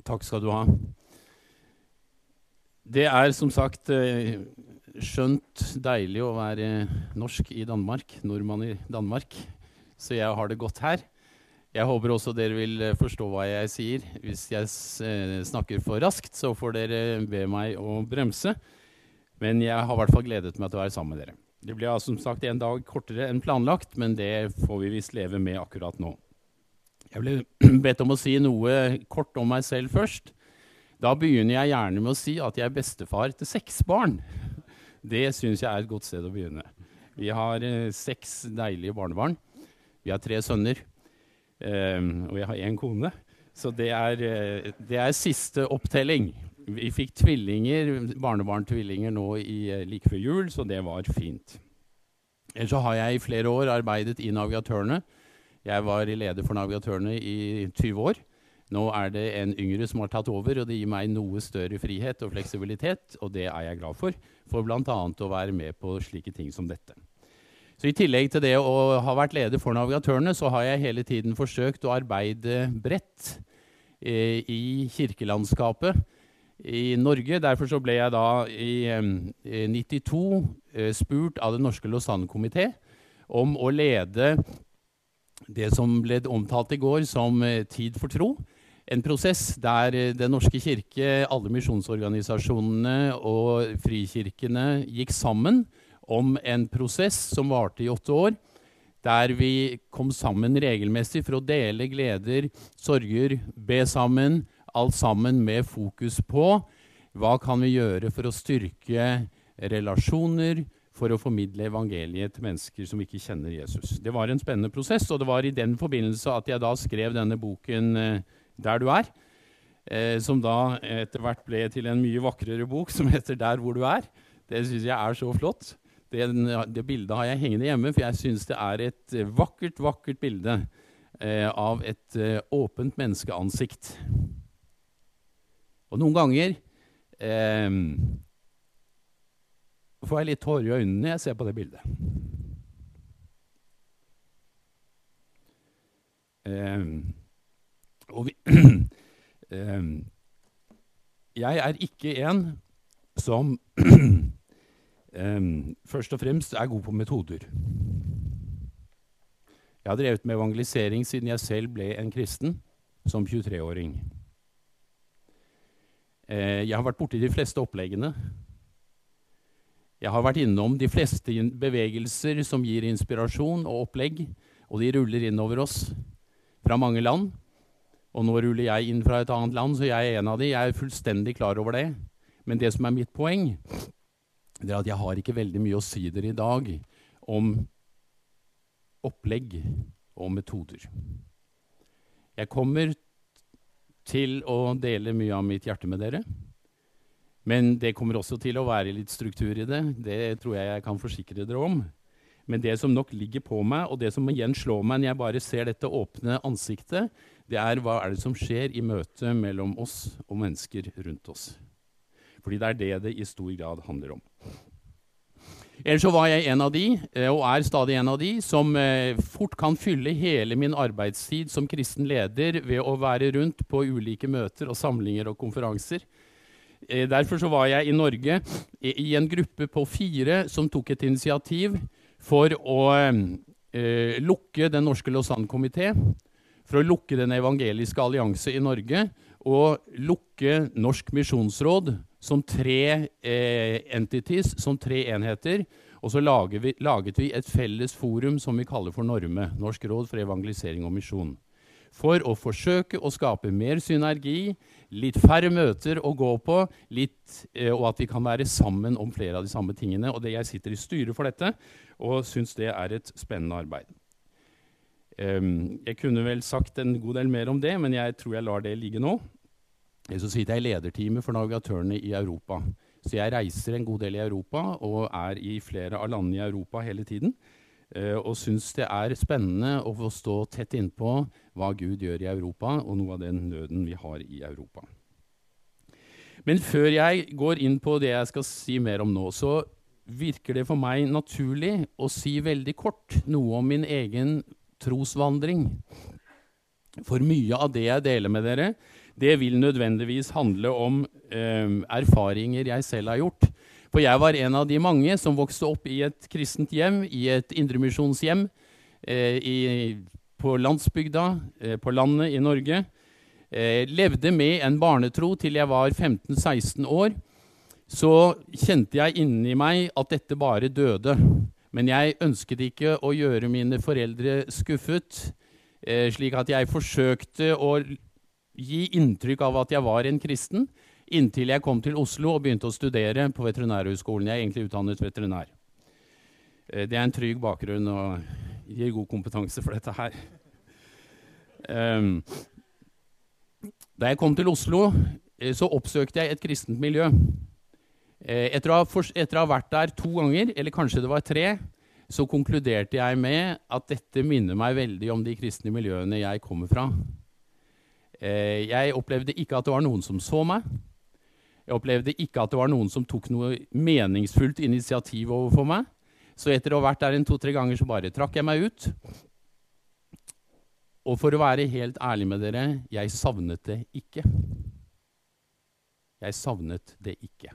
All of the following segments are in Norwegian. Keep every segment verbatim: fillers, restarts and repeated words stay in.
Takk skal du ha. Det er som sagt eh, skjønt deilig å være norsk i Danmark, nordmann i Danmark, så jeg har det godt her. Jeg håper også dere vil forstå hva jeg sier. Hvis jeg eh, snakker for raskt, så får dere be meg å bremse. Men jeg har i hvert fall gledet meg til å være sammen med dere. Det blir som sagt en dag kortere enn planlagt, men det får vi visst leve med akkurat nå. Jeg ble bedt om å si noe kort om meg selv først. Da begynner jeg gjerne med å si at jeg er bestefar til seks barn. Det synes jeg er et godt sted å begynne. Vi har eh, seks deilige barnebarn. Vi har tre sønner, eh, og jeg har en kone. Så det er, eh, det er siste opptelling. Vi fikk tvillinger, barnebarn-tvillinger nå i, eh, like før jul, så det var fint. Ellers så har jeg i flere år arbeidet i Navigatørene. Jeg var leder for Navigatørene i tyve år. Nå er det en yngre som har tatt over, og det gir meg noe større frihet og fleksibilitet, og det er jeg glad for, for blant annet å være med på slike ting som dette. Så i tillegg til det å ha vært leder for Navigatørene, så har jeg hele tiden forsøkt å arbeide bredt eh, i kirkelandskapet i Norge. Derfor så ble jeg da i eh, nittito eh, spurt av Den norske Lausanne-komité om å lede det som ble omtalt i går som eh, Tid for tro. En prosess der eh, Den norske kirke, alle misjonsorganisasjonene og frikirkene gikk sammen om en prosess som varte i åtte år, der vi kom sammen regelmessig for å dele gleder, sorger, be sammen, alt sammen med fokus på hva kan vi gjøre for å styrke relasjoner, for å formidle evangeliet til mennesker som ikke kjenner Jesus. Det var en spennende prosess, og det var i den forbindelse at jeg da skrev denne boken eh, Der du er, eh, som da etter hvert ble til en mye vakrere bok som heter Der hvor du er. Det synes jeg er så flott. Det, det bildet har jeg hengende hjemme, for jeg synes det er et vakkert, vakkert bilde eh, av et eh, åpent menneskeansikt. Og noen ganger eh, får jeg litt tårer i øynene når jeg ser på det bildet. Um, og vi, um, jeg er ikke en som um, først og fremst er god på metoder. Jeg har drevet med evangelisering siden jeg selv ble en kristen som tjuetre-åring. Uh, jeg har vært borte i de fleste oppleggene. Jeg har vært innom de fleste bevegelser som gir inspirasjon og opplegg, og de ruller inn over oss fra mange land. Og nå ruller jeg inn fra et annet land, så jeg er en av de. Jeg er fullstendig klar over det. Men det som er mitt poeng, det er at jeg har ikke veldig mye å si dere i dag om opplegg og metoder. Jeg kommer til å dele mye av mitt hjerte med dere. Men det kommer også til å være litt struktur i det. Det tror jeg jeg kan forsikre dere om. Men det som nok ligger på meg, og det som igjen slår meg når jeg bare ser dette åpne ansiktet, det er hva er det som skjer i møte mellom oss og mennesker rundt oss. Fordi det er det det i stor grad handler om. Ellers så var jeg en av de, og er stadig en av de, som fort kan fylle hele min arbeidstid som kristen leder ved å være rundt på ulike møter og samlinger og konferanser. Derfor så var jeg i Norge i en gruppe på fire som tok et initiativ for å eh, lukke Den norske Lausanne-komité, for å lukke Den evangeliske allianse i Norge, og lukke Norsk misjonsråd som tre eh, entities, som tre enheter, og så laget vi, laget vi et felles forum som vi kaller for Norme, Norsk råd for evangelisering og misjon. For å forsøke å skape mer synergi, litt færre møter å gå på, litt, eh, og at vi kan være sammen om flere av de samme tingene. Og det jeg sitter i styret for dette, og synes det er et spennende arbeid. Um, jeg kunne vel sagt en god del mer om det, men jeg tror jeg lar det ligge nå. Så sitter jeg i lederteamet for Navigatørene i Europa. Så jeg reiser en god del i Europa, og er i flere av landene i Europa hele tiden. Uh, og synes det er spennende å få stå tett innpå hva Gud gjør i Europa, og noe av den nøden vi har i Europa. Men før jeg går inn på det jeg skal si mer om nå, så virker det for meg naturlig å si veldig kort noe om min egen trosvandring. For mye av det jeg deler med dere, det vil nødvendigvis handle om eh, erfaringer jeg selv har gjort. For jeg var en av de mange som vokste opp i et kristent hjem, i et indremisjonshjem, eh, i, på landsbygda, eh, på landet i Norge. Eh, levde med en barnetro til jeg var femten seksten år. Så kjente jeg inni meg at dette bare døde. Men jeg ønsket ikke å gjøre mine foreldre skuffet, eh, slik at jeg forsøkte å gi inntrykk av at jeg var en kristen, inntil jeg kom til Oslo og begynte å studere på Veterinærhøgskolen. Jeg er egentlig utdannet veterinær. Eh, det er en trygg bakgrunn og gir god kompetanse for dette her. Um, da jeg kom til Oslo, eh, så oppsøkte jeg et kristent miljø. Etter å, ha, etter å ha vært der to ganger, eller kanskje det var tre, så konkluderte jeg med at dette minner meg veldig om de kristne miljøene jeg kommer fra. Jeg opplevde ikke at det var noen som så meg. Jeg opplevde ikke at det var noen som tok noe meningsfullt initiativ overfor meg. Så etter å ha vært der en to-tre ganger, så bare trakk jeg meg ut. Og for å være helt ærlig med dere, jeg savnet det ikke. Jeg savnet det ikke.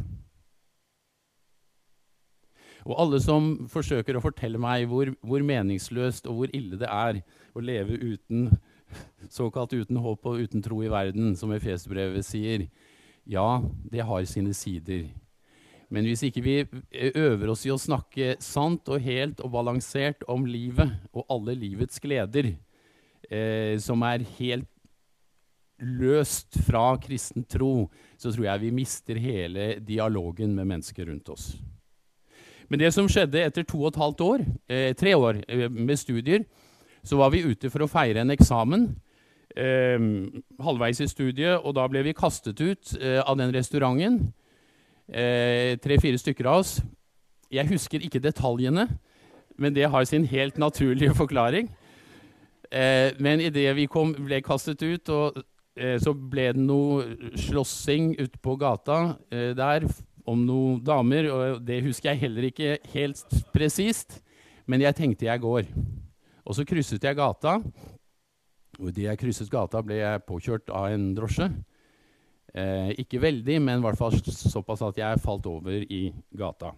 Og alle som forsøker å fortelle meg hvor, hvor meningsløst og hvor ille det er å leve uten, såkalt uten håp og uten tro i verden, som Efesbrevet sier, ja, det har sine sider. Men hvis ikke vi øver oss i å snakke sant og helt og balansert om livet og alle livets gleder, eh, som er helt løst fra kristen tro, så tror jeg vi mister hele dialogen med mennesker rundt oss. Men det som skjedde etter to og et halvt år, eh, tre år eh, med studier, så var vi ute for å feire en eksamen, eh, halvveis i studiet, og da ble vi kastet ut eh, av den restauranten, eh, tre-fire stykker av oss. Jeg husker ikke detaljene, men det har sin helt naturlige forklaring. Eh, men i det vi kom, ble kastet ut, og, eh, så ble det noe slåssing ute på gata eh, der, om noen damer, og det husker jeg heller ikke helt presist, men jeg tenkte jeg går. Og så krysset jeg gata, og idet jeg krysset gata ble jeg påkjørt av en drosje. Eh, ikke veldig, men i hvert fall såpass at jeg falt over i gata.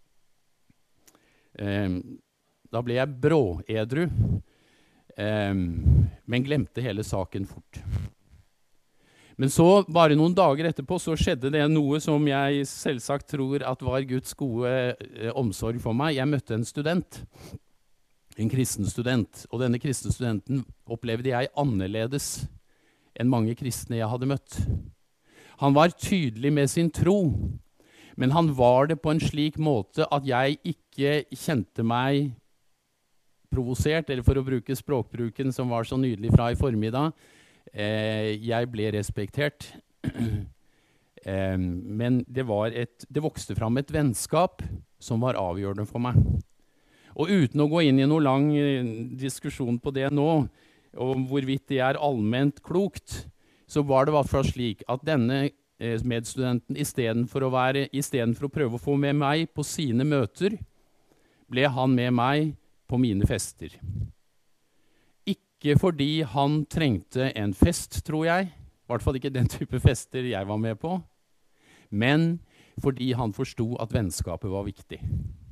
Eh, da ble jeg bråedru, eh, men glemte hele saken fort. Men så, bare noen dager etterpå, så skjedde det noe som jeg selvsagt tror at var Guds gode eh, omsorg for meg. Jeg møtte en student, en kristen student, og denne kristne studenten opplevde jeg annerledes enn mange kristne jeg hadde møtt. Han var tydelig med sin tro, men han var det på en slik måte at jeg ikke kjente meg provosert, eller for å bruke språkbruken som var så nydelig fra i formiddag, Eh, jeg ble respektert, eh, men det, var et, det vokste fram et vennskap som var avgjørende for meg. Og uten å gå inn i noen lang eh, diskusjon på det nå, og hvorvidt det er allment klokt, så var det i hvert fall slik at denne eh, medstudenten, i stedet for å være, i stedet for å prøve å få med meg på sine møter, ble han med meg på mine fester. Ikke fordi han trengte en fest, tror jeg, i hvert fall ikke den type fester jeg var med på, men fordi han forstod at vennskapet var viktig.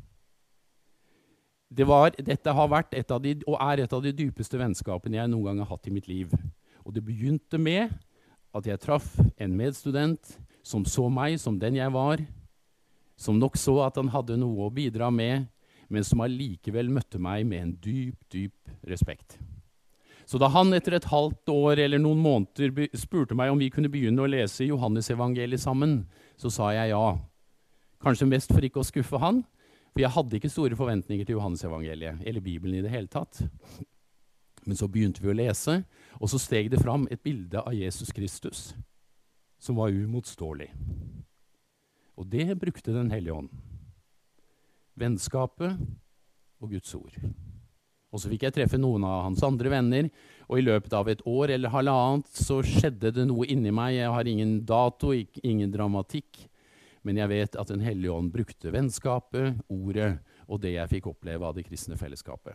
Det var, dette har vært et av de, og er et av de dypeste vennskapene jeg noen gang har hatt i mitt liv. Og det begynte med at jeg traff en medstudent som så meg som den jeg var, som nok så at han hadde noe å bidra med, men som allikevel møtte meg med en dyp, dyp respekt. Så da han etter et halvt år eller noen måneder spurte meg om vi kunne begynne å lese Johannes-evangeliet sammen, så sa jeg ja. Kanskje mest for ikke å skuffe han, for jeg hadde ikke store forventninger til Johannes-evangeliet, eller Bibelen i det hele tatt. Men så begynte vi å lese, og så steg det fram et bilde av Jesus Kristus, som var umotståelig. Og det brukte Den hellige ånd. Vennskapet og Guds ord. Og så fikk jeg treffe noen av hans andre venner, og i løpet av et år eller halvannet så skjedde det noe inni meg. Jeg har ingen dato, ingen dramatikk, men jeg vet at Den hellige ånd brukte vennskapet, ordet, og det jeg fikk oppleve av det kristne fellesskapet.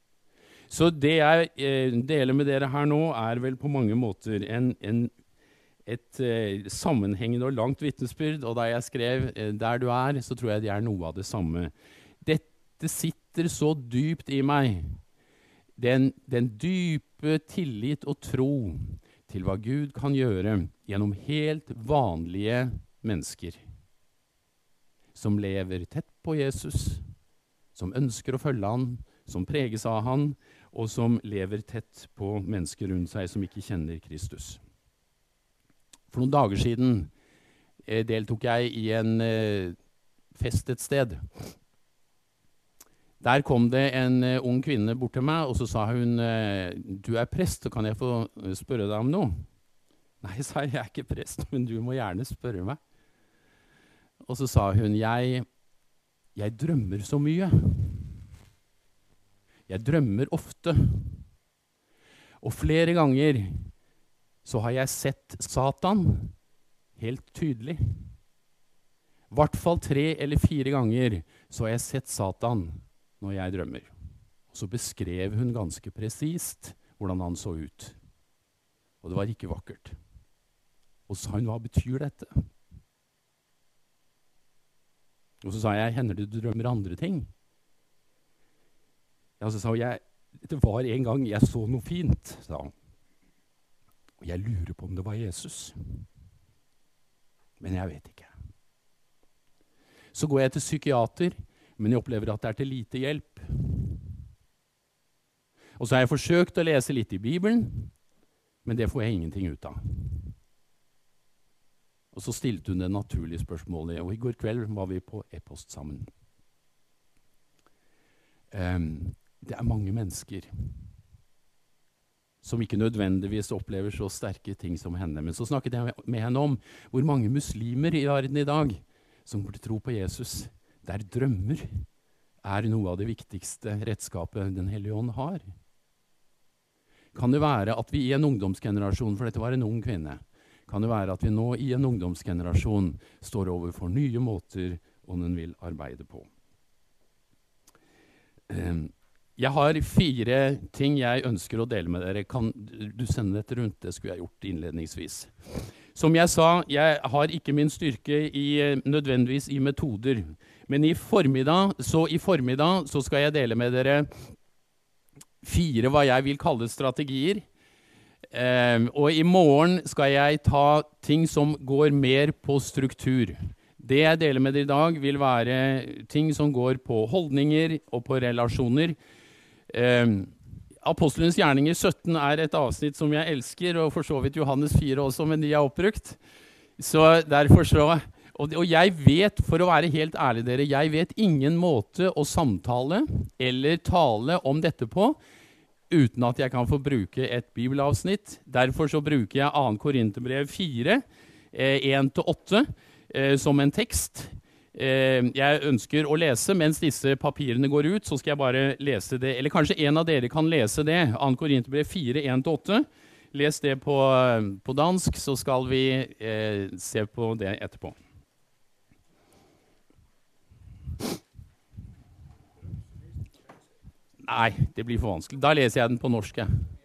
Så det jeg eh, deler med dere her nå er vel på mange måter en, en, et eh, sammenhengende og langt vitnesbyrd, og da jeg skrev eh, «Der du er», så tror jeg det er noe av det samme. Dette sitter så dypt i meg. Den, den dype tillit og tro til hva Gud kan gjøre gjennom helt vanlige mennesker som lever tett på Jesus, som ønsker å følge han, som preges av han, og som lever tett på mennesker rundt seg som ikke kjenner Kristus. For noen dager siden eh, deltok jeg i en eh, fest et sted. Der kom det en uh, ung kvinne bort til meg, og så sa hun, uh, du er prest, så kan jeg få spørre deg om noe? Nei, sa jeg, jeg er ikke prest, men du må gjerne spørre meg. Og så sa hun, jeg, jeg drømmer så mye. Jeg drømmer ofte. Og flere ganger så har jeg sett Satan helt tydelig. I hvert fall tre eller fire ganger så har jeg sett Satan når jeg drømmer. Og så beskrev hun ganske presist hvordan han så ut. Og det var ikke vakkert. Og så sa hun, hva betyr dette? Og så sa jeg, hender det du drømmer andre ting? Ja, så sa hun, jeg, det var en gang jeg så noe fint, sa hun. Og jeg lurer på om det var Jesus. Men jeg vet ikke. Så går jeg til psykiater, men jeg opplever at det er til lite hjelp. Og så har jeg forsøkt å lese litt i Bibelen, men det får jeg ingenting ut av. Og så stilte hun det naturlige spørsmålet, og i går kveld var vi på e-post sammen. Um, det er mange mennesker som ikke nødvendigvis opplever så sterke ting som henne. Men så snakket jeg med henne om hvor mange muslimer i verden i dag som burde tro på Jesus, der drømmer er noe av det viktigste redskapet Den Hellige Ånd har. Kan det være at vi i en ungdomsgenerasjon, for dette var en ung kvinne, kan det være at vi nå i en ungdomsgenerasjon står overfor nye måter Ånden vil arbeide på. Jeg har fire ting jeg ønsker å dele med dere. Kan du sende dette rundt? Det skulle jeg gjort innledningsvis. Som jeg sa, jeg har ikke min styrke i, nødvendigvis i metoder. Men i formiddag, så i formiddag så skal jeg dele med dere fire hva jeg vil kalle strategier. Eh, og i morgen skal jeg ta ting som går mer på struktur. Det jeg deler med dere i dag vil være ting som går på holdninger og på relasjoner. Eh, Apostelens gjerninger sytten er et avsnitt som jeg elsker, og for så vidt Johannes fire også, men de er oppbrukt. Så derfor så, og, og jeg vet, for å være helt ærlig dere, jeg vet ingen måte å samtale eller tale om dette på, uten at jeg kan få bruke et bibelavsnitt. Derfor så bruker jeg andre Korinterbrev fire, en til åtte, eh, som en tekst. Jeg ønsker å lese, mens disse papirene går ut, så skal jeg bare lese det. Eller kanskje en av dere kan lese det. andre Korinterbrev fire, en til åtte. Les det på, på dansk, så skal vi eh, se på det etterpå. Nei, det blir for vanskelig. Da leser jeg den på norsk.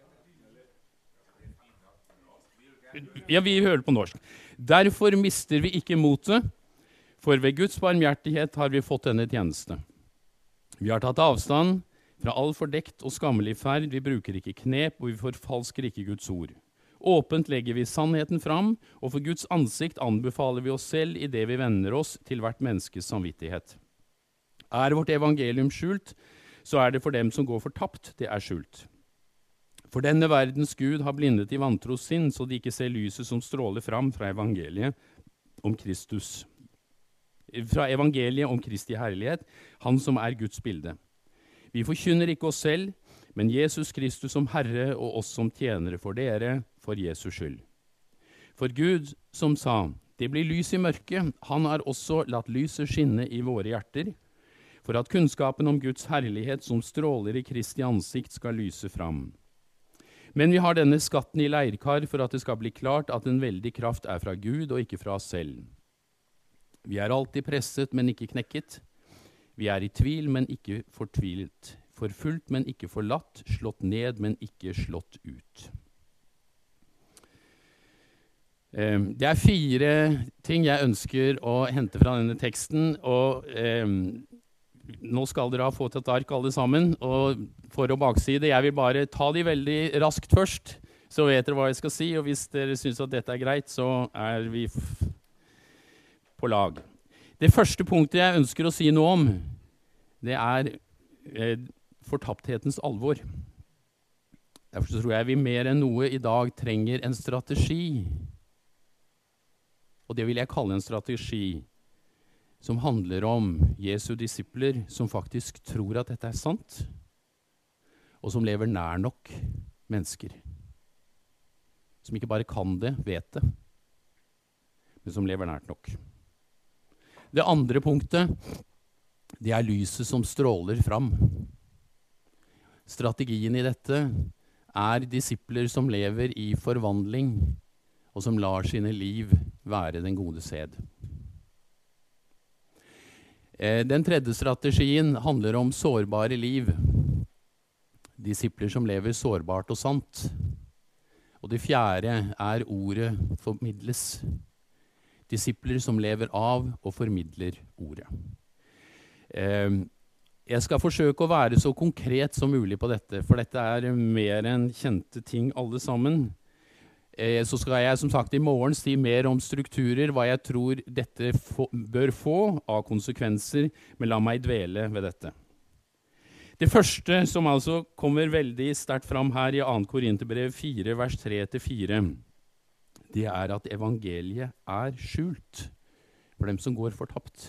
Ja, vi hører på norsk. Derfor mister vi ikke motet, for ved Guds barmhjertighet har vi fått denne tjeneste. Vi har tatt avstand fra all fordekt og skammelig ferd, vi bruker ikke knep, og vi forfalsker ikke Guds ord. Åpent legger vi sannheten fram, og for Guds ansikt anbefaler vi oss selv i det vi vender oss til hvert menneskes samvittighet. Er vårt evangelium skjult, så er det for dem som går fortapt, det er skjult. For denne verdens Gud har blindet i vantros sinn, så de ikke ser lyset som stråler fram fra evangeliet om Kristus. Fra evangeliet om Kristi herlighet, han som er Guds bilde. Vi forkynner ikke oss selv, men Jesus Kristus som Herre og oss som tjenere for dere, for Jesus skyld. For Gud som sa, det blir lys i mørket, han har også latt lyset skinne i våre hjerter, for at kunnskapen om Guds herlighet som stråler i Kristi ansikt skal lyse fram. Men vi har denne skatten i leirkar for at det skal bli klart at en veldig kraft er fra Gud og ikke fra oss selv. Vi er alltid presset, men ikke knekket. Vi er i tvil, men ikke fortvilet. Forfulgt, men ikke forlatt. Slått ned, men ikke slått ut. Eh, det er fire ting jeg ønsker å hente fra denne teksten, og eh, nå skal dere ha fått et ark alle sammen, og for å bakside, jeg vil bare ta de veldig raskt først, så vet dere hva jeg skal si, og hvis dere synes at dette er greit, så er vi f- på lag. Det første punktet jeg ønsker å si noe om, det er eh, fortapthetens alvor. Derfor så tror jeg vi mer enn noe i dag trenger en strategi. Og det vil jeg kalle en strategi som handler om Jesu disipler som faktisk tror at dette er sant, og som lever nær nok mennesker. Som ikke bare kan det, vet det, men som lever nært nok. Det andre punktet, det er lyset som stråler fram. Strategien i dette er disipler som lever i forvandling, og som lar sine liv være den gode sed. Eh, den tredje strategien handler om sårbare liv. Disipler som lever sårbart og sant. Og det fjerde er ordet formidles. Disipler som lever av og formidler ordet. Eh, jeg skal forsøke å være så konkret som mulig på dette, for dette er mer enn kjente ting alle sammen. Eh, så skal jeg som sagt i morgen si mer om strukturer, hva jeg tror dette få, bør få av konsekvenser, men la meg dvele ved dette. Det første som altså kommer veldig sterkt fram her i andre Korinterbrev fire, vers tre til fire, det er at evangeliet er skjult for dem som går fortapt.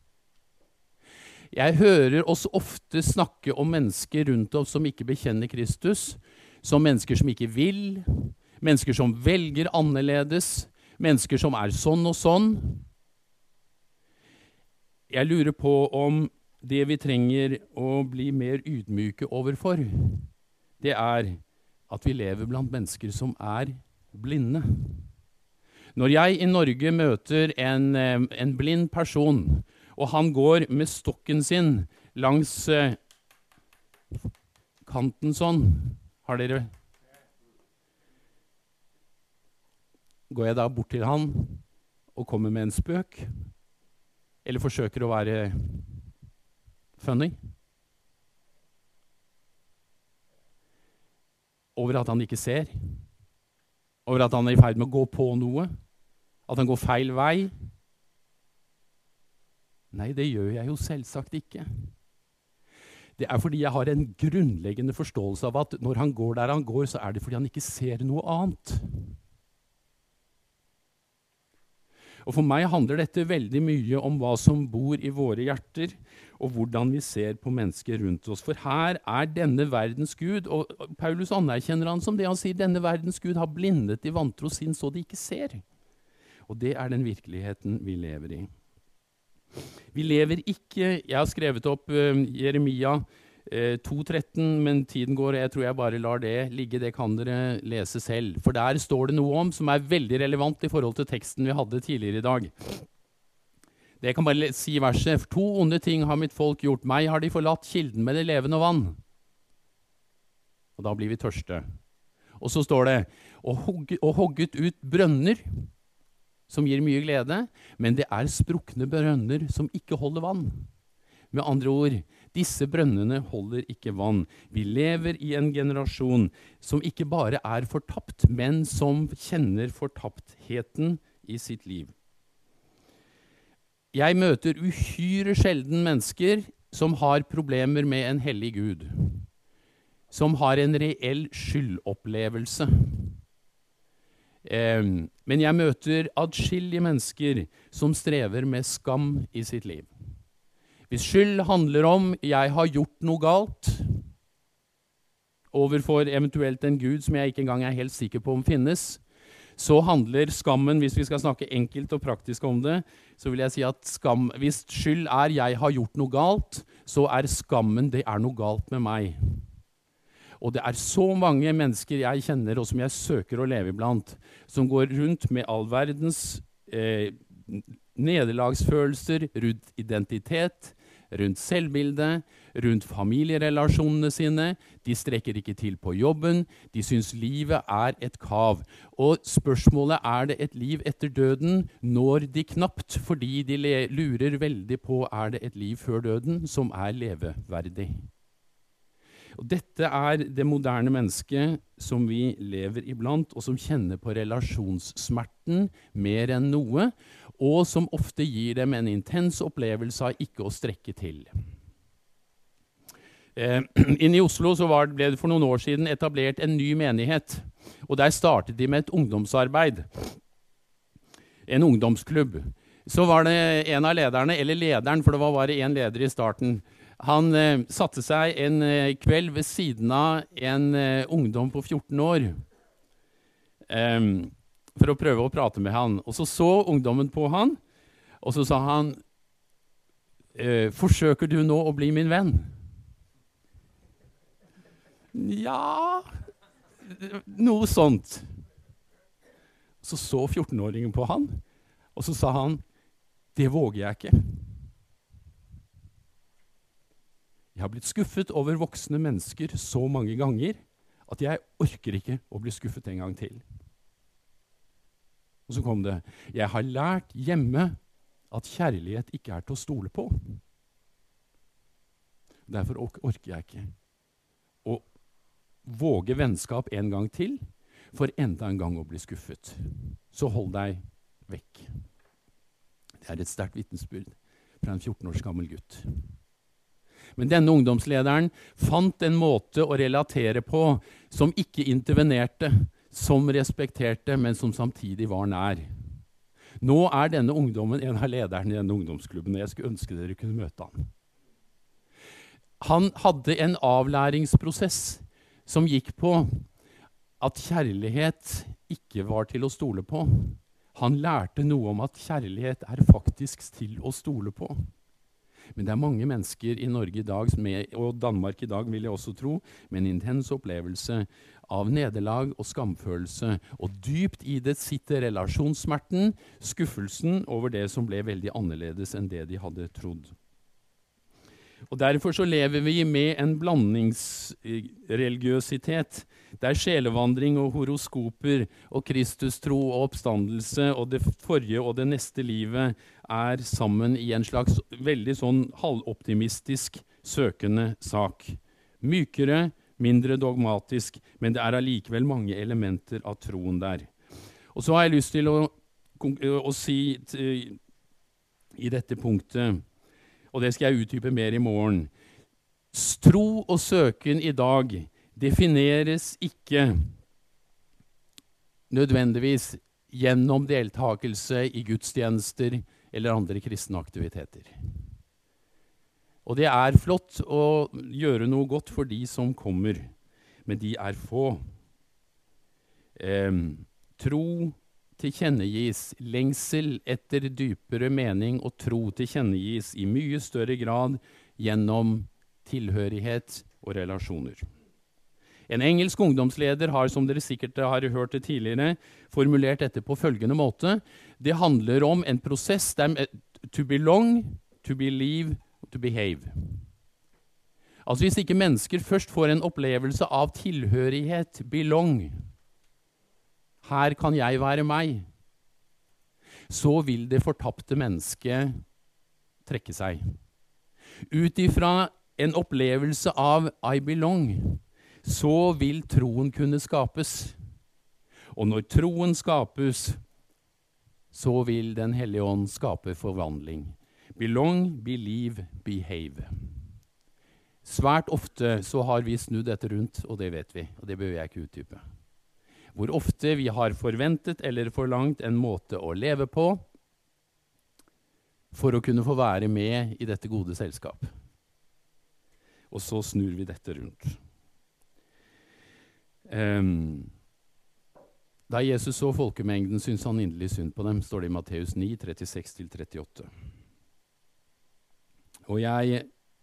Jeg hører oss ofte snakke om mennesker rundt oss som ikke bekjenner Kristus, som mennesker som ikke vil, mennesker som velger annerledes, mennesker som er sånn og sånn. Jeg lurer på om det vi trenger å bli mer ydmyke overfor, det er at vi lever blant mennesker som er blinde. Når jeg i Norge møter en, en blind person, og han går med stokken sin langs eh, kanten sånn, har dere... Går jeg da bort til han og kommer med en spøk? Eller forsøker å være funny? Over at han ikke ser? Over at han er i ferd med å gå på noe? At han går feil vei? Nei, det gjør jeg jo selvsagt ikke. Det er fordi jeg har en grunnleggende forståelse av at når han går der han går, så er det fordi han ikke ser noe annet. Og for meg handler dette veldig mye om hva som bor i våre hjerter, og hvordan vi ser på mennesker rundt oss. For her er denne verdens Gud, og Paulus anerkjenner han som det. Han sier, denne verdens Gud har blindet de vantro sinn så de ikke ser. Og det er den virkeligheten vi lever i. Vi lever ikke, jeg har skrevet opp uh, Jeremia uh, to tretten, men tiden går, og jeg tror jeg bare lar det ligge, det kan dere lese selv. For der står det noe om som er veldig relevant i forhold til teksten vi hadde tidligere i dag. Det kan bare si verset, for to onde ting har mitt folk gjort, meg har de forlatt kilden med det levende vann. Og da blir vi tørste. Og så står det, og, hogget, og hogget ut brønner, som gir mye glede, men det er sprukne brønner som ikke holder vann. Med andre ord, disse brønnene holder ikke vann. Vi lever i en generasjon som ikke bare er fortapt, men som kjenner fortaptheten i sitt liv. Jeg møter uhyre sjelden mennesker som har problemer med en hellig Gud, som har en reell skyldopplevelse. Eh, men jeg møter adskillige mennesker som strever med skam i sitt liv. Hvis skyld handler om jeg har gjort noe galt overfor eventuelt en Gud som jeg ikke engang er helt sikker på om finnes, så handler skammen, hvis vi skal snakke enkelt og praktisk om det, så vil jeg si at skam, hvis skyld er jeg har gjort noe galt, så er skammen det er noe galt med meg. Og det er så mange mennesker jeg kjenner, og som jeg søker å leve iblant, som går rundt med all verdens eh, nederlagsfølelser, rundt identitet, rundt selvbildet, rundt familierelasjonene sine. De strekker ikke til på jobben. De syns livet er et kav. Og spørsmålet er det et liv etter døden når de knapt, fordi de lurer veldig på er det et liv før døden som er leveverdig. Og dette er det moderne mennesket som vi lever iblant, og som kjenner på relasjonssmerten mer enn noe, og som ofte gir dem en intens opplevelse av ikke å strekke til. Eh, inne i Oslo så var, ble det for noen år siden etablert en ny menighet, og der startet de med et ungdomsarbeid, en ungdomsklubb. Så var det en av lederne, eller lederen, for det var bare en leder i starten. Han eh, satte seg en eh, kveld ved siden av en eh, ungdom på fjorten år eh, for å prøve å prate med han. Og så så ungdommen på han, og så sa han, eh, forsøker du nå å bli min venn? Ja, noe sånt. Så så fjortenåringen på han, og så sa han, det våger jeg ikke. Jeg har blitt skuffet over voksne mennesker så mange ganger at jeg orker ikke å bli skuffet en gang til. Og så kom det, jeg har lært hjemme at kjærlighet ikke er til å stole på. Derfor orker jeg ikke å våge vennskap en gang til, for enda en gang å bli skuffet. Så hold deg vekk. Det er et sterkt vitnesbyrd fra en fjorten års gammel gutt. Men denne ungdomslederen fant en måte å relatere på som ikke intervenerte, som respekterte, men som samtidig var nær. Nå er denne ungdommen en av lederne i denne ungdomsklubben, og jeg skulle ønske dere kunne møte han. Han hadde en avlæringsprosess som gikk på at kjærlighet ikke var til å stole på. Han lærte noe om at kjærlighet er faktisk til å stole på. Men det er mange mennesker i Norge i dag, med, og Danmark i dag vil jeg også tro, med en intens opplevelse av nederlag og skamfølelse. Og dypt i det sitter relasjonssmerten, skuffelsen over det som ble veldig annerledes enn det de hadde trodd. Og derfor så lever vi med en blandingsreligiøsitet, der sjelevandring og horoskoper og Kristustro og oppstandelse og det forrige og det neste livet er sammen i en slags veldig sånn halvoptimistisk søkende sak. Mykere, mindre dogmatisk, men det er allikevel mange elementer av troen der. Og så har jeg lyst til å, å si til, i dette punktet, og det skal jeg utdype mer i morgen. Tro og søken i dag defineres ikke nødvendigvis gjennom deltakelse i gudstjenester eller andre kristne aktiviteter. Og det er flott å gjøre noe godt for de som kommer, men de er få. Eh, tro tilkjennegis, lengsel etter dypere mening og tro tilkjennegis i mye større grad gjennom tilhørighet og relasjoner. En engelsk ungdomsleder har, som dere sikkert har hørt det tidligere, formulert dette på følgende måte. Det handler om en prosess der to belong, to believe, to behave. Altså hvis ikke mennesker først får en opplevelse av tilhørighet, belong, her kan jeg være meg, så vil det fortapte mennesket trekke seg. Ut ifra en opplevelse av I belong, så vil troen kunne skapes. Og når troen skapes, så vil Den hellige ånd skape forvandling. Belong, believe, behave. Svært ofte så har vi snudd dette rundt, og det vet vi, og det bør jeg ikke utdype. Hvor ofte vi har forventet eller forlangt en måte å leve på for å kunne få være med i dette gode selskap. Og så snur vi dette rundt. Um, da Jesus så folkemengden, syntes han inderlig synd på dem, står det i Matteus ni, trettiseks til trettiåtte. Og jeg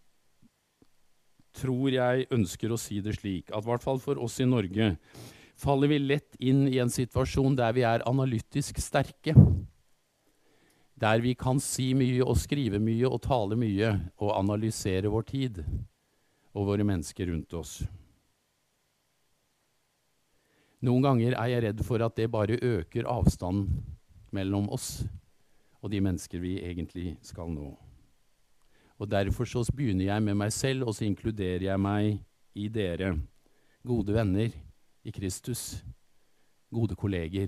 tror jeg ønsker å si det slik, at i hvert fall for oss i Norge, faller vi lett inn i en situasjon der vi er analytisk sterke. Der vi kan si mye og skrive mye og tale mye og analysere vår tid og våre mennesker rundt oss. Noen ganger er jeg redd for at det bare øker avstanden mellom oss og de mennesker vi egentlig skal nå. Og derfor så begynner jeg med meg selv, og så inkluderer jeg meg i dere, gode venner i Kristus, gode kolleger.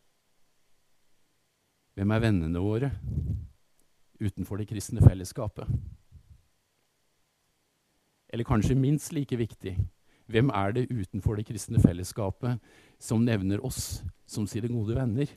Hvem er vennene våre utenfor det kristne fellesskapet? Eller kanskje minst like viktig, hvem er det utenfor det kristne fellesskapet som nevner oss som sine gode venner?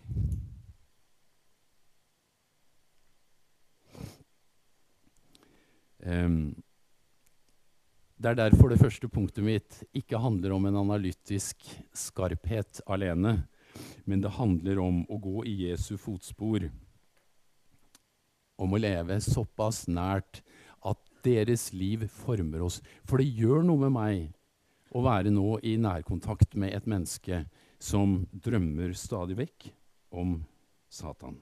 Um, det er derfor det første punktet mitt ikke handler om en analytisk skarphet alene, men det handler om å gå i Jesu fotspor, om å leve såpass nært at deres liv former oss. For det gjør noe med meg å være nå i nærkontakt med et menneske som drømmer stadig vekk om Satan.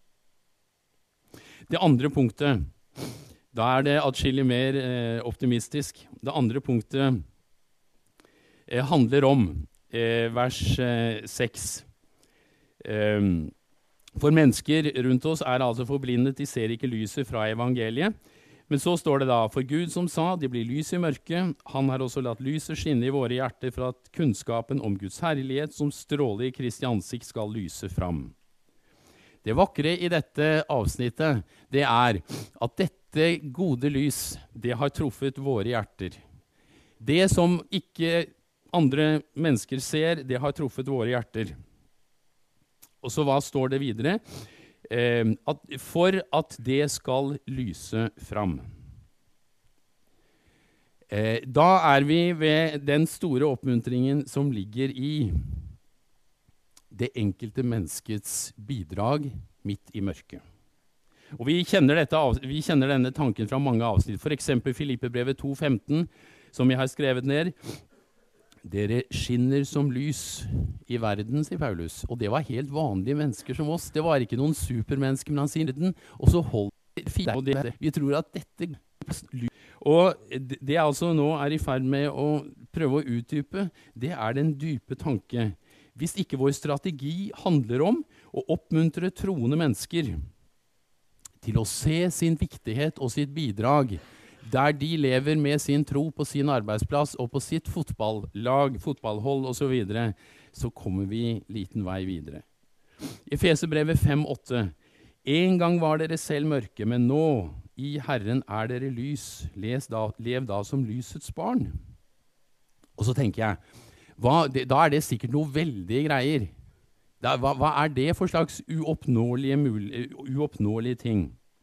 Det andre punktet, da er det atskillig mer eh, optimistisk. Det andre punktet eh, handler om eh, vers eh, seks. Um, for mennesker rundt oss er altså forblindet, de ser ikke lyset fra evangeliet. Men så står det da, for Gud som sa, det blir lys i mørket, han har også latt lyset skinne i våre hjerter for at kunnskapen om Guds herlighet som stråler i Kristi ansikt skal lyse fram. Det vakre i dette avsnittet, det er at dette gode lys, det har truffet våre hjerter. Det som ikke andre mennesker ser, det har truffet våre hjerter. Og så hva står det videre? Eh, at for at det skal lyse fram. Eh, da er vi ved den store oppmuntringen som ligger i det enkelte menneskets bidrag midt i mørket. Og vi kjenner, dette, vi kjenner denne tanken fra mange avsnitt. For eksempel Filippebrevet to femten, som jeg har skrevet ned. Dere skinner som lys i verden, sier Paulus. Og det var helt vanlige mennesker som oss. Det var ikke noen supermennesker, men han sier den. Og så holder fire. Og det, vi tror at dette Og det jeg altså nå er i ferd med å prøve å utdype, det er den dype tanke. Hvis ikke vår strategi handler om å oppmuntre troende mennesker til å se sin viktighet og sitt bidrag, der de lever med sin tro på sin arbeidsplass og på sitt fotballag, fotballhold og så videre, så kommer vi liten vei videre. I Efeserbrevet fem åtte. En gang var dere selv mørke, men nå, i Herren er dere lys. Les da, lev da som lysets barn. Og så tenker jeg, hva, det, da er det sikkert noe veldige greier. Da, hva, hva er det for slags uoppnåelige, mul- uoppnåelige ting?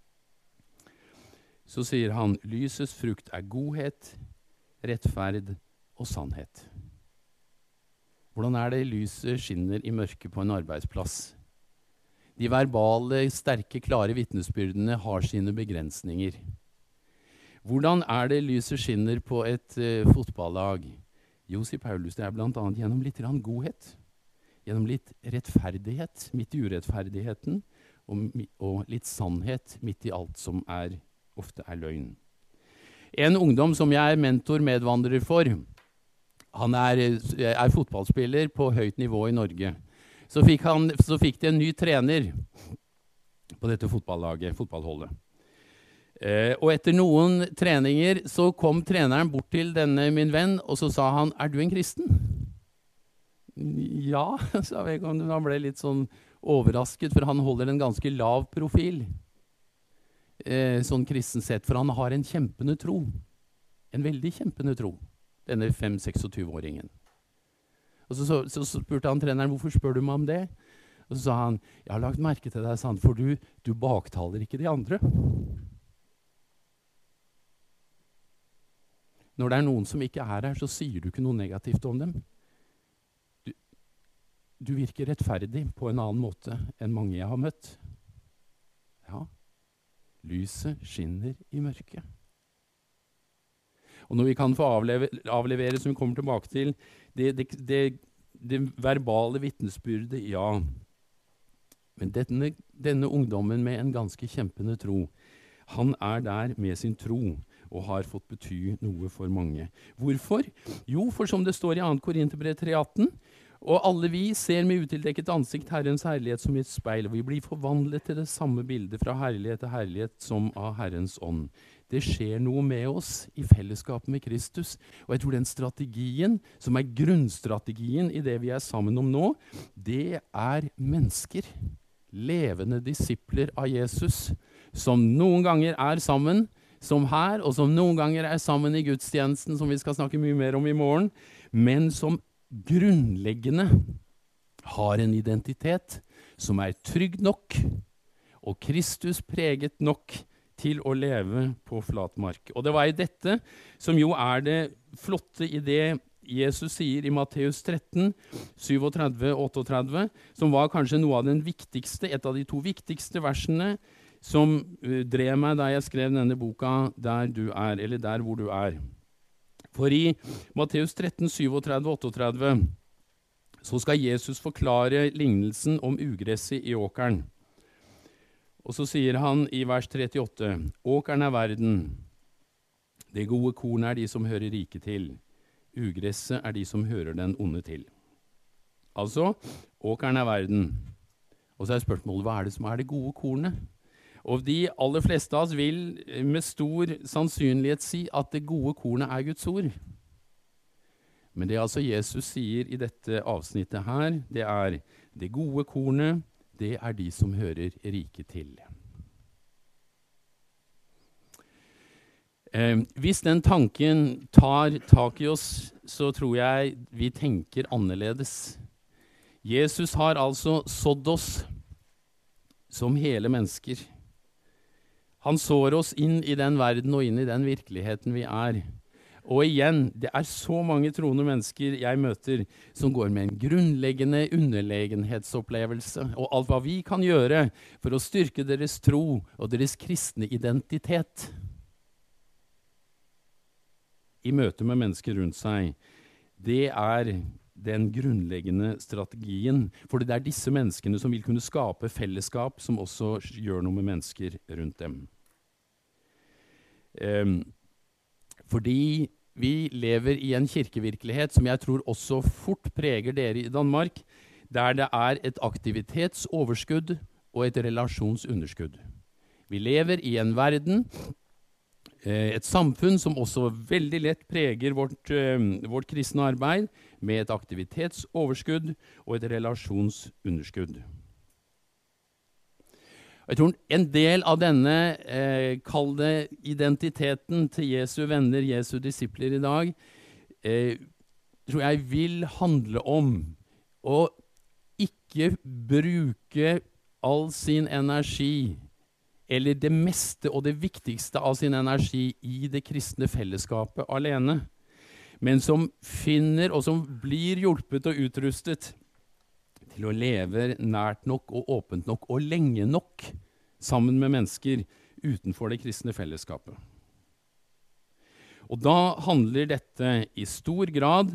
Så sier han, lysets frukt er godhet, rettferd og sannhet. Hvordan er det lyset skinner i mørket på en arbeidsplass? De verbale, sterke, klare vitnesbyrdene har sine begrensninger. Hvordan er det lyset skinner på et uh, fotballag? Jo, sier Paulus, det er blant annet gjennom litt grann godhet. Gjennom litt rettferdighet midt i urettferdigheten, og, og litt sannhet midt i alt som er, ofte er løgn. En ungdom som jeg er mentor-medvandrer for, han er, er fotballspiller på høyt nivå i Norge. Så fikk, han, så fikk de en ny trener på dette fotballaget, fotballholdet. Eh, og etter noen treninger så kom treneren bort til denne min venn, og så sa han, er du en kristen? Ja, sa jeg. Han ble litt sånn overrasket, for han holder en ganske lav profil. Eh, sånn kristen sett, for han har en kjempende tro. En veldig kjempende tro, denne fem-seksogtyve-åringen. Og så, så, så spurte han treneren, hvorfor spør du meg om det? Og så sa han, jeg har lagt merke til deg, sant, for du, du baktaler ikke de andre. Når det er noen som ikke er her, så sier du ikke noe negativt om dem. Du, du virker rettferdig på en annen måte enn mange jeg har møtt. Ja, lyset skinner i mørket. Og når vi kan få avleve, avlevere, som vi kommer tilbake til, det, det, det, det verbale vitnesbyrdet, ja, Men denne, denne ungdommen med en ganske kjempende tro, han er der med sin tro og har fått bety noe for mange. Hvorfor? Jo, for som det står i andre Korinterbrev tre atten, og alle vi ser med utildekket ansikt Herrens herlighet som i et speil, og vi blir forvandlet til det samme bildet fra herlighet til herlighet som av Herrens ånd. Det skjer noe med oss i fellesskap med Kristus, og jeg tror den strategien, som er grunnstrategien i det vi er sammen om nå, det er mennesker, levende disipler av Jesus, som noen ganger er sammen, som her, og som noen ganger er sammen i gudstjenesten, som vi skal snakke mye mer om i morgen, men som grunnleggende har en identitet som er trygg nok, og Kristus preget nok til å leve på flat mark. Og det var i dette som jo er det flotte i det Jesus sier i Matteus tretten, syvogtredve og otteogtredve, som var kanskje noe av den viktigste, et av de to viktigste versene som uh, drev meg da jeg skrev denne boka Der du er, eller Der hvor du er. For i Matteus tretten, syvogtredve og otteogtredve så skal Jesus forklare lignelsen om ugresset i åkeren. Og så sier han i vers trettiåtte, åkeren er verden, det gode korn er de som hører riket til, ugresset er de som hører den onde til. Altså, åkeren er verden. Og så er spørsmålet, hva er det som er det gode kornet? Og de aller fleste av oss vil med stor sannsynlighet si at det gode kornet er Guds ord. Men det altså Jesus sier i dette avsnittet her, det er det gode kornet, det er de som hører riket til. Eh, hvis den tanken tar tak i oss, så tror jeg vi tenker annerledes. Jesus har altså sådd oss som hele mennesker. Han sår oss inn i den verden og inn i den virkeligheten vi er. Og igjen, det er så mange troende mennesker jeg møter som går med en grunnleggende underlegenhetsopplevelse, og alt hva vi kan gjøre for å styrke deres tro og deres kristne identitet i møte med mennesker rundt seg, det er den grunnleggende strategien, for det er disse menneskene som vil kunne skape fellesskap som også gjør noe med mennesker rundt dem. Um, fordi vi lever i en kirkevirkelighet som jeg tror også fort preger dere i Danmark, der det er et aktivitetsoverskudd og et relasjonsunderskudd. Vi lever i en verden, et samfunn som også veldig lett preger vårt, vårt kristne arbeid, med et aktivitetsoverskudd og et relasjonsunderskudd. Jeg tror en del av denne eh, kalde identiteten til Jesu venner, Jesu disipler i dag, eh, tror jeg vil handle om å ikke bruke all sin energi, eller det meste og det viktigste av sin energi i det kristne fellesskapet alene, men som finner og som blir hjulpet og utrustet til å leve nært nok og åpent nok og lenge nok sammen med mennesker utenfor det kristne fellesskapet. Og da handler dette i stor grad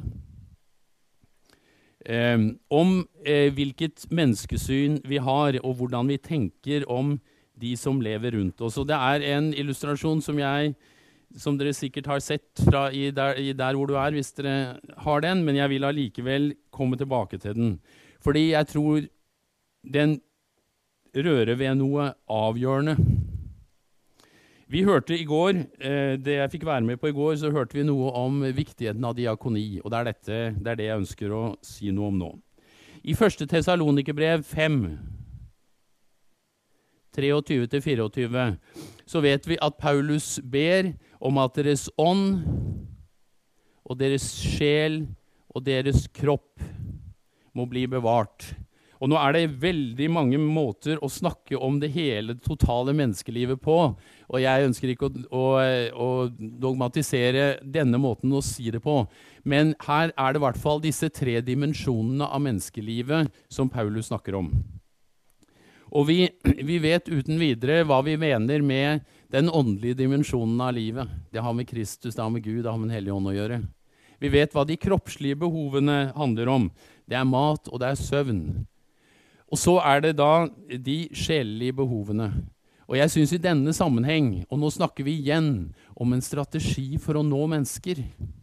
eh, om eh, hvilket menneskesyn vi har, og hvordan vi tenker om de som lever rundt oss. Og det er en illustrasjon som jeg, som dere sikkert har sett fra i der, i der hvor du er, hvis dere har den, men jeg vil allikevel komme tilbake til den. Fordi jeg tror den rører ved noe avgjørende. Vi hørte i går, eh, det jeg fikk være med på i går, så hørte vi noe om viktigheten av diakoni, og det er, dette, det er det jeg ønsker å si noe om nå. I første Tessalonikerbrev fem, treogtyve til fireogtyve, så vet vi at Paulus ber om at deres ånd og deres sjel og deres kropp må bli bevart. Og nå er det veldig mange måter å snakke om det hele totale menneskelivet på, og jeg ønsker ikke å, å, å dogmatisere denne måten å si det på, men her er det i hvert fall disse tre dimensjonene av menneskelivet som Paulus snakker om. Og vi, vi vet uten videre hva vi mener med den åndelige dimensjonen av livet. Det har med Kristus, det har med Gud, det har med den hellige ånd å gjøre. Vi vet hva de kroppslige behovene handler om. Det er mat og det er søvn. Og så er det da de sjelelige behovene. Og jeg synes i denne sammenheng, og nå snakker vi igjen om en strategi for å nå mennesker,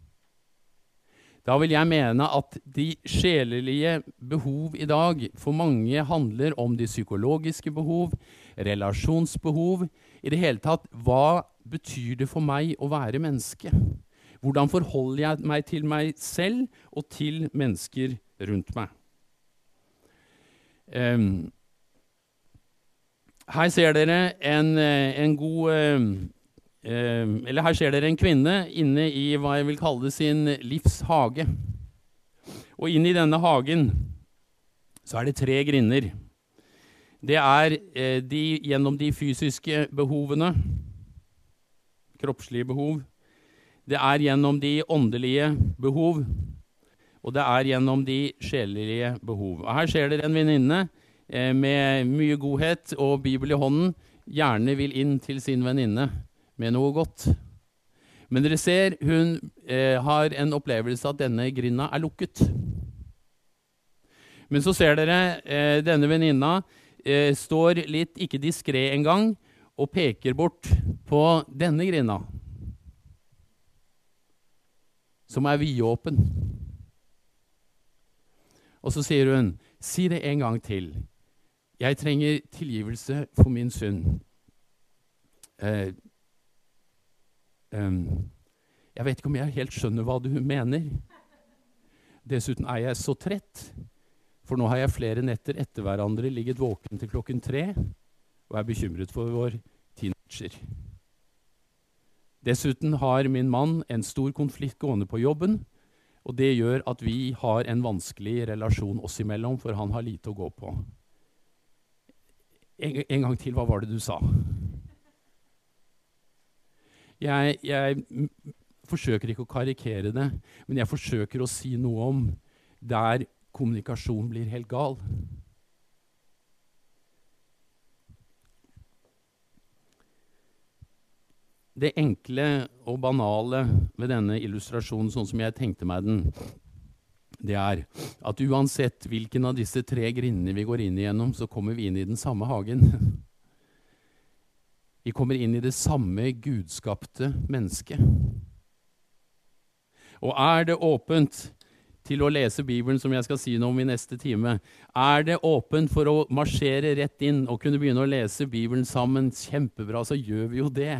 da vil jeg mene at de sjelelige behov i dag for mange handler om de psykologiske behov, relasjonsbehov. I det hele tatt, hva betyr det for meg å være menneske? Hvordan forholder jeg meg til meg selv og til mennesker rundt meg? Um, her ser dere en, en god... Um, Uh, eller her ser dere en kvinne inne i hva jeg vil kalle sin livshage. Og inn i denne hagen så er det tre grinder. Det er uh, de, gjennom de fysiske behovene, kroppslige behov. Det er gjennom de åndelige behov. Og det er gjennom de sjelelige behov. Og her ser dere en venninne uh, med mye godhet og Bibel i hånden, gjerne vil inn til sin venninne med noe godt. Men dere ser, hun eh, har en opplevelse at denne grinda er lukket. Men så ser dere, eh, denne venninna eh, står litt, ikke diskret engang, og peker bort på denne grinda, som er vidåpen. Og så sier hun, si det en gang til. Jeg trenger tilgivelse for min synd. Eh, Um, jeg vet ikke om jeg helt skjønner hva du mener. Dessuten er jeg så trett, for nå har jeg flere netter etter hverandre ligget våken til klokken tre, og er bekymret for vår teenager. Dessuten har min mann en stor konflikt gående på jobben, og det gjør at vi har en vanskelig relasjon oss imellom, for han har lite å gå på. En, en gang til, hva var det du sa? Jeg, jeg forsøker ikke å karikere det, men jeg forsøker å si noe om der kommunikasjon blir helt gal. Det enkle og banale ved denne illustrasjonen, sånn som jeg tenkte meg den, det er at uansett hvilken av disse tre grindene vi går inn igjennom, så kommer vi inn i den samme hagen. Vi kommer inn i det samme gudskapte mennesket. Og er det åpent til å lese Bibelen, som jeg skal si noe om i neste time, er det åpent for å marsjere rett inn og kunne begynne å lese Bibelen sammen, kjempebra, så gjør vi jo det.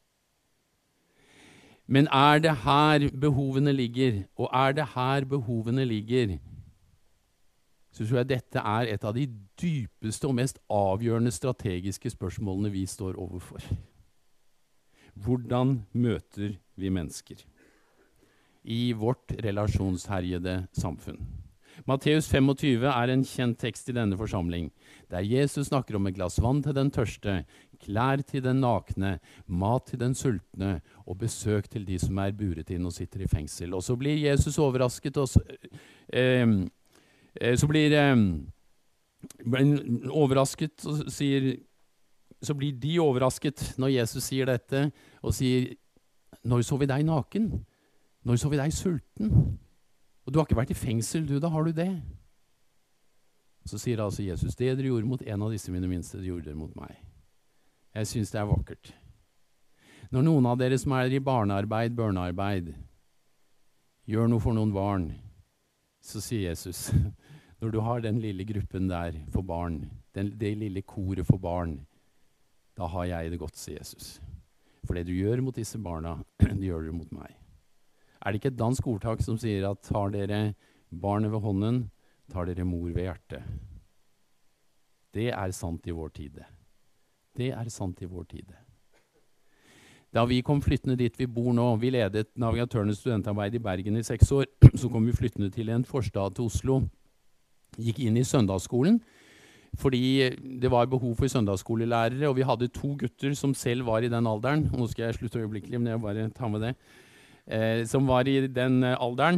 Men er det her behovene ligger, og er det her behovene ligger, så tror jeg dette er et av de dypeste og mest avgjørende strategiske spørsmålene vi står overfor. Hvordan møter vi mennesker i vårt relasjonsherjede samfunn? Matteus tjuefem er en kjent tekst i denne forsamling, der Jesus snakker om et glass vann til den tørste, klær til den nakne, mat til den sultne, og besøk til de som er buret inn og sitter i fengsel. Og så blir Jesus overrasket og eh, Så blir eh, overrasket og sier, så blir de overrasket når Jesus sier dette, og sier, når så vi deg naken? Når så vi deg sulten? Og du har ikke vært i fengsel, du, da har du det. Så sier altså Jesus, det dere gjorde mot en av disse mine minste, det gjorde dere mot meg. Jeg synes det er vakkert. Når noen av dere som er i barnearbeid, børnearbeid, gjør noe for noen barn, så sier Jesus, når du har den lille gruppen der for barn, den, det lille koret for barn, da har jeg det godt, sier Jesus. For det du gjør mot disse barna, det gjør du mot meg. Er det ikke et dansk ordtak som sier at tar dere barnet ved hånden, tar dere mor ved hjertet? Det er sant i vår tid. Det er sant i vår tid. Da vi kom flyttende dit vi bor nå, vi ledet navigatørnes studentarbeid i Bergen i seks år, så kom vi flyttende til en forstad til Oslo, gikk inn i søndagsskolen, fordi det var behov for søndagsskolelærere, og vi hadde to gutter som selv var i den alderen, og nå skal jeg slutte øyeblikkelig, men jeg bare tar med det, eh, som var i den eh, alderen.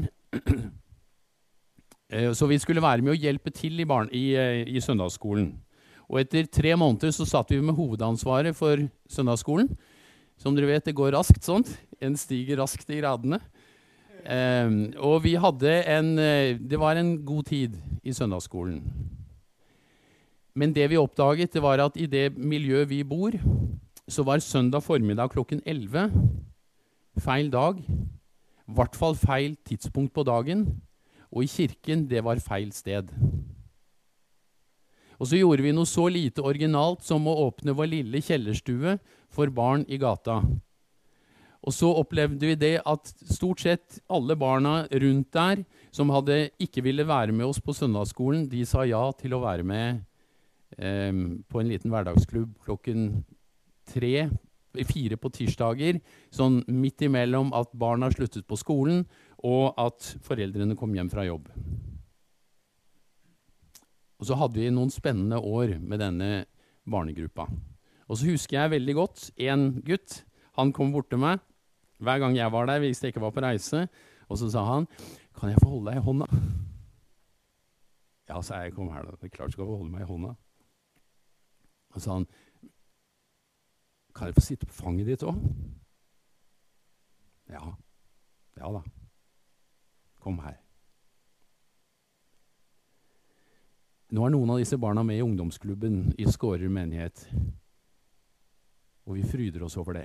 eh, så vi skulle være med å hjelpe til i, barn, i, eh, i søndagsskolen. Og etter tre måneder så satt vi med hovedansvaret for søndagsskolen. Som dere vet, det går raskt sånt. En stiger raskt i gradene. Eh, og vi hadde en, det var en god tid i søndagsskolen. Men det vi oppdaget, det var at i det miljøet vi bor, så var søndag formiddag klokken elleve feil dag, i hvert fall feil tidspunkt på dagen, og i kirken, det var feil sted. Og så gjorde vi noe så lite originalt som å åpne vår lille kjellerstue for barn i gata. Og så opplevde vi det at stort sett alle barna rundt der som hadde ikke ville være med oss på søndagsskolen, de sa ja til å være med eh, på en liten hverdagsklubb klokken tre, fire på tirsdager, sånn midt imellom at barna sluttet på skolen og at foreldrene kom hjem fra jobb. Og så hadde vi noen spennende år med denne barnegruppa. Og så husker jeg veldig godt en gutt, han kom bort til meg hver gang jeg var der, hvis jeg ikke var på reise, og så sa han, kan jeg få holde deg i hånda? Ja, så jeg kom her da, det er klart skal få holde meg i hånda. Og så sa han, kan jeg få sitte på fanget ditt også? Ja, ja da, kom her. Nå er noen av disse barna med i ungdomsklubben i Skårer menighet, og vi fryder oss over det.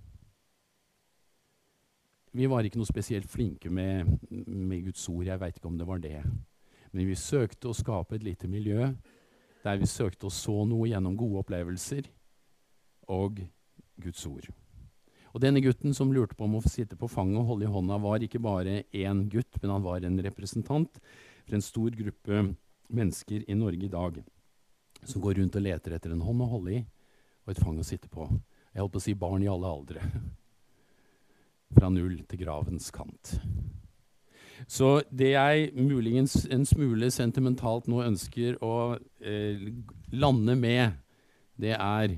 Vi var ikke noe spesielt flinke med, med Guds ord, jeg vet ikke om det var det. Men vi søkte å skape et lite miljø, der vi søkte å så noe gjennom gode opplevelser og Guds ord. Og denne gutten som lurte på om å få sitte på fanget og holde i hånda, var ikke bare en gutt, men han var en representant for en stor gruppe mennesker i Norge i dag, som går rundt og leter etter en hånd å holde i, og et fang å sitte på. Jeg holdt på å si barn i alle aldre. Fra null til gravens kant. Så det jeg muligens en smule sentimentalt nå ønsker å eh, lande med, det er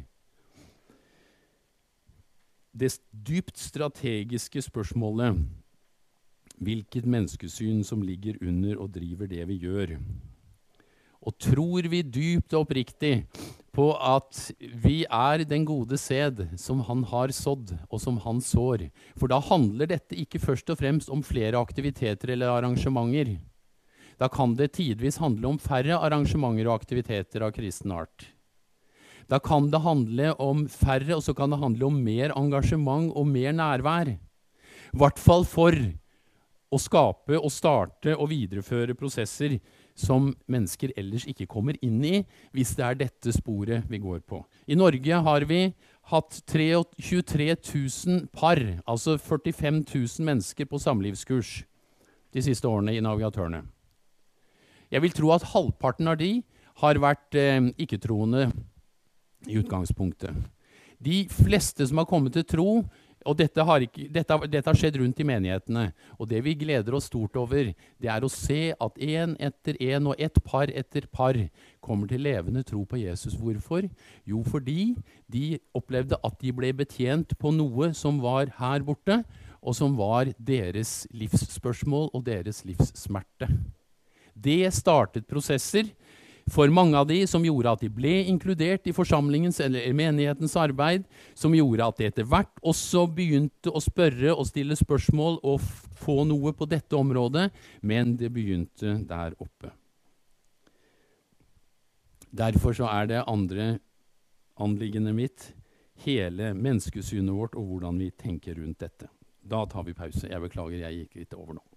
det dypt strategiske spørsmålet, hvilket menneskesyn som ligger under og driver det vi gjør. Og tror vi dypt og oppriktig på at vi er den gode sæd som han har sådd og som han sår. For da handler dette ikke først og fremst om flere aktiviteter eller arrangementer. Da kan det tidvis handle om færre arrangementer og aktiviteter av kristen art. Da kan det handle om færre, og så kan det handle om mer engasjement og mer nærvær. I hvert fall for å skape og starte og videreføre prosesser som mennesker ellers ikke kommer inn i, hvis det er dette sporet vi går på. I Norge har vi hatt tjuetre tusen par, altså førtifem tusen mennesker på samlivskurs de siste årene i Navigatørene. Jeg vil tro at halvparten av de har vært eh, ikke-troende i utgangspunktet. De fleste som har kommet til tro, og dette har, ikke, dette, dette har skjedd rundt i menighetene, og det vi gleder oss stort over, det er å se at en etter en og ett par etter par kommer til levende tro på Jesus. Hvorfor? Jo, fordi de opplevde at de ble betjent på noe som var her borte, og som var deres livsspørsmål og deres livssmerte. Det startet prosesser for mange av de som gjorde at de ble inkludert i forsamlingens eller menighetens arbeid, som gjorde at de etter hvert også begynte å spørre og stille spørsmål og få noe på dette området, men det begynte der oppe. Derfor så er det andre anliggende mitt, hele menneskesynet vårt og hvordan vi tenker rundt dette. Da tar vi pause. Jeg beklager, jeg gikk litt over nå.